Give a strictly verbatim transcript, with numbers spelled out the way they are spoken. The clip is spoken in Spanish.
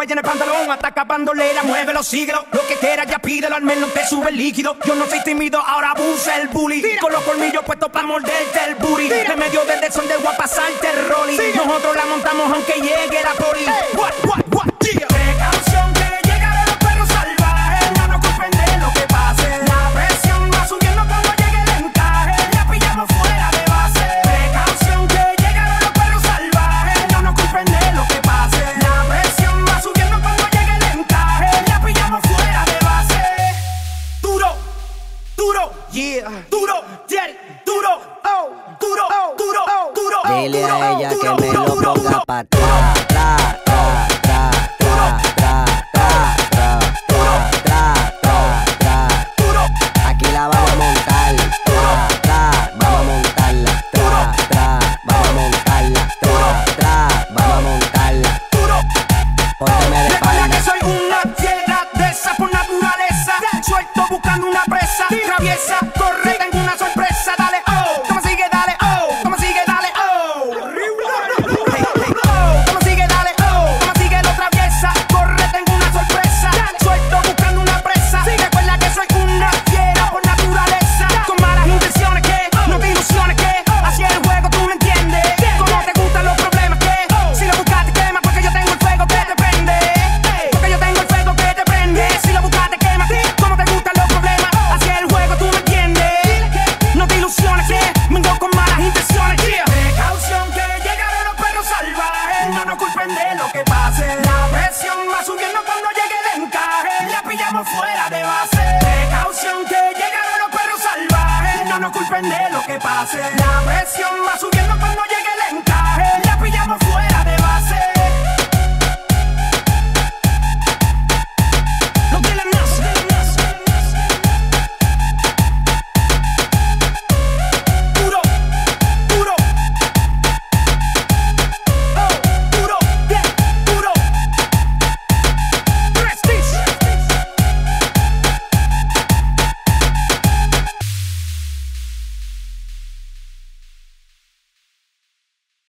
huella en el pantalón, ataca bandolera, mueve los siglos. Lo que quieras ya pídelo, al menos te sube el líquido. Yo no soy tímido, ahora abusa el bully. Tira. Con los colmillos puestos pa' morderte el booty. Tira. En medio del desorden de voy a pasarte el rolling. Sí. Nosotros la montamos aunque llegue la poli. Hey. What, what, what, yeah. Precaución que llegarán los perros salvajes. No nos culpen de lo que pase. La presión va subiendo cuando llegue el encaje. La pillamos fuera de base. Precaución que llegarán los perros salvajes. No nos culpen de lo que pase. La presión va subiendo cuando llegue el encaje. La pillamos fuera de base. Duro, duro, yeah. Duro, yeah, duro, oh, duro, oh, duro, oh, duro, oh. Dile a ella que me lo ponga pa' atrás, tra, tra, tra, tra, tra, tra, tra, tra, tra, tra. Aquí la vamos a montar, tra, tra, vamos a montarla, tra, tra, vamos a montarla, tra, tra, vamos a montarla. Pónteme de Recuerda que espalda. soy una fiera de esa por naturaleza. Suelto buscando una presa, traviesa, corre, tengo una sorpresa. Dale, oh, como sigue, dale, oh, como sigue, dale, oh. Hey, hey, oh, como sigue, dale, oh, como sigue, lo traviesa, corre, tengo una sorpresa. Suelto buscando una presa. Recuerda que soy una fiera por naturaleza. Con malas intenciones que, no te ilusiones que, así es el juego, tú me entiendes. Como te gustan los problemas que, si lo buscas te quema, porque yo tengo el fuego que te prende. Porque yo tengo el fuego que te prende. Si lo buscas te quema, como te gustan los problemas, así es el juego, tú me entiendes. No te ilusiones que, vengo con malas intenciones. Precaución que llegarán los perros salvajes. No nos culpen de lo que pase. La presión va subiendo cuando llegue el encaje. La pillamos fuera de base. Precaución que llegarán los perros salvajes. No nos culpen de lo que pase. La presión va subiendo cuando llegue